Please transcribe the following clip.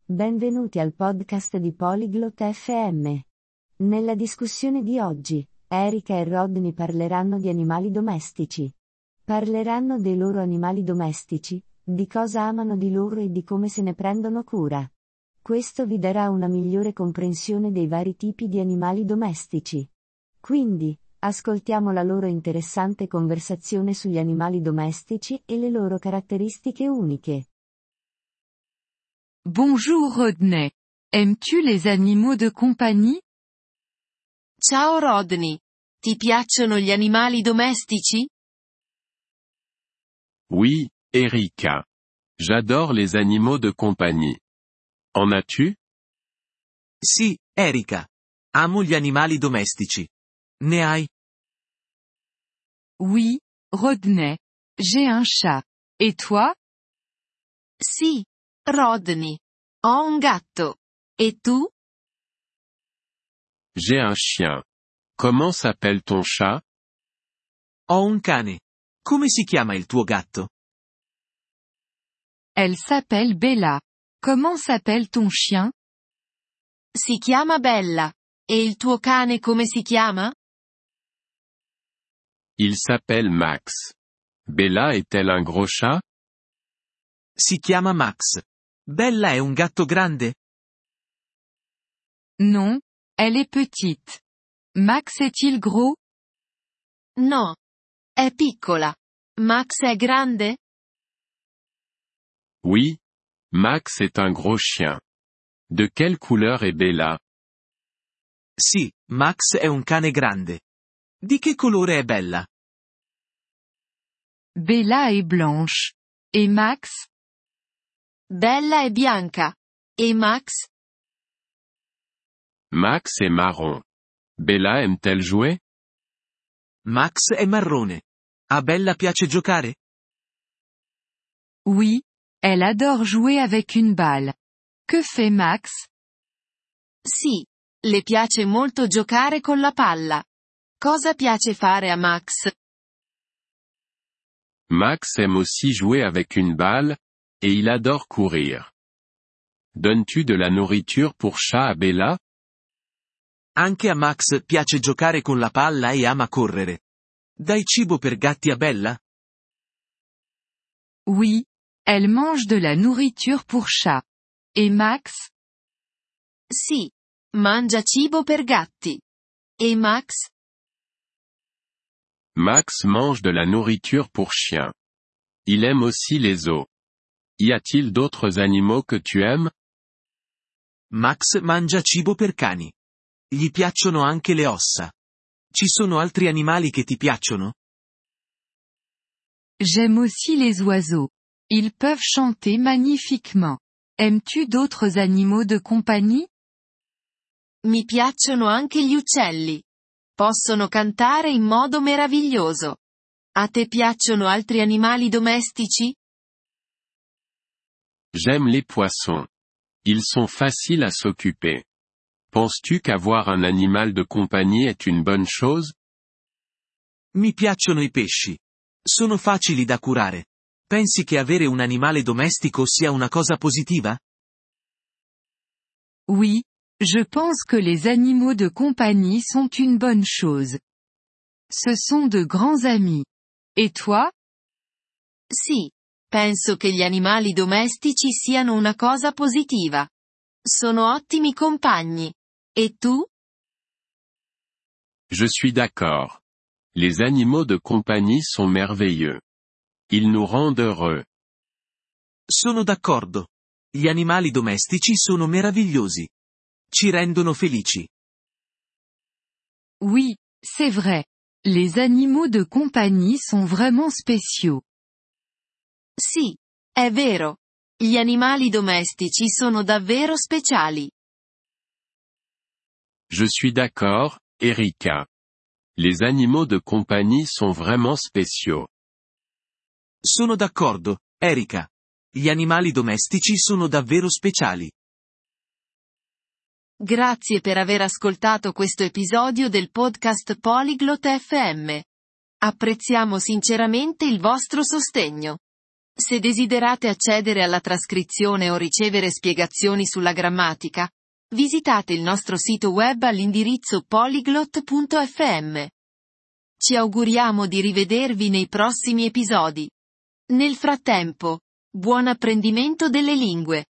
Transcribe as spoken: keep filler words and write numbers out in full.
Benvenuti al podcast di Polyglot F M. Nella discussione di oggi, Erika e Rodney parleranno di animali domestici. Parleranno dei loro animali domestici, di cosa amano di loro e di come se ne prendono cura. Questo vi darà una migliore comprensione dei vari tipi di animali domestici. Quindi, ascoltiamo la loro interessante conversazione sugli animali domestici e le loro caratteristiche uniche. Bonjour Rodney. Aimes-tu les animaux de compagnie? Ciao Rodney. Ti piacciono gli animali domestici? Oui, Erika. J'adore les animaux de compagnie. En as-tu? Sì, Erika. Amo gli animali domestici. Ne hai? Oui, Rodney. J'ai un chat. Et toi? Sì, Rodney. Ho un gatto. E tu? J'ai un chien. Comment s'appelle ton chat? Ho un cane. Come si chiama il tuo gatto? Elle s'appelle Bella. Comment s'appelle ton chien? Si chiama Bella. E il tuo cane come si chiama? Il s'appelle Max. Bella est-elle un gros chat? Si chiama Max. Bella è un gatto grande? Non, elle est petite. Max est-il gros? No. È piccola. Max è grande? Oui. Max est un gros chien. De quelle couleur est Bella? Sì, Max è un cane grande. Di che colore è Bella? Bella est blanche. Et Max? Bella è bianca. E Max? Max est marron. Bella aime-t-elle jouer? Max è marrone. A Bella piace giocare? Oui, elle adore jouer avec une balle. Que fait Max? Sì. Le piace molto giocare con la palla. Cosa piace fare a Max? Max aime aussi jouer avec une balle, et il adore courir. Donnes-tu de la nourriture pour chat à Bella? Anche a Max piace giocare con la palla e ama correre. Dai cibo per gatti a Bella? Oui, elle mange de la nourriture pour chat. Et Max? Sì. Mangia cibo per gatti. E Max? Max mange de la nourriture pour chien. Il aime aussi les os. Y a-t-il d'autres animaux que tu aimes? Max mangia cibo per cani. Gli piacciono anche le ossa. Ci sono altri animali che ti piacciono? J'aime aussi les oiseaux. Ils peuvent chanter magnifiquement. Aimes-tu d'autres animaux de compagnie? Mi piacciono anche gli uccelli. Possono cantare in modo meraviglioso. A te piacciono altri animali domestici? J'aime les poissons. Ils sont faciles à s'occuper. Penses-tu qu'avoir un animal de compagnie est une bonne chose? Mi piacciono i pesci. Sono facili da curare. Pensi che avere un animale domestico sia una cosa positiva? Oui, je pense que les animaux de compagnie sont une bonne chose. Ce sont de grands amis. Et toi? Sì. Penso che gli animali domestici siano una cosa positiva. Sono ottimi compagni. E tu? Je suis d'accord. Les animaux de compagnie sont merveilleux. Ils nous rendent heureux. Sono d'accordo. Gli animali domestici sono meravigliosi. Ci rendono felici. Oui, c'est vrai. Les animaux de compagnie sont vraiment spéciaux. Sì. È vero. Gli animali domestici sono davvero speciali. Je suis d'accord, Erika. Les animaux de compagnie sont vraiment spéciaux. Sono d'accordo, Erika. Gli animali domestici sono davvero speciali. Grazie per aver ascoltato questo episodio del podcast Polyglot F M. Apprezziamo sinceramente il vostro sostegno. Se desiderate accedere alla trascrizione o ricevere spiegazioni sulla grammatica, visitate il nostro sito web all'indirizzo polyglot punto effe emme. Ci auguriamo di rivedervi nei prossimi episodi. Nel frattempo, buon apprendimento delle lingue!